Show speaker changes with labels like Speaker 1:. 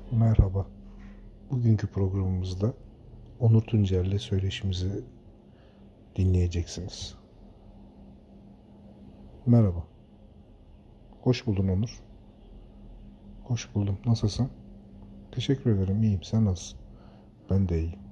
Speaker 1: Merhaba. Bugünkü programımızda Onur Tuncer'le söyleşimizi dinleyeceksiniz. Merhaba. Hoş buldun Onur. Hoş buldum. Nasılsın? Teşekkür ederim. İyiyim. Sen nasılsın? Ben de iyiyim.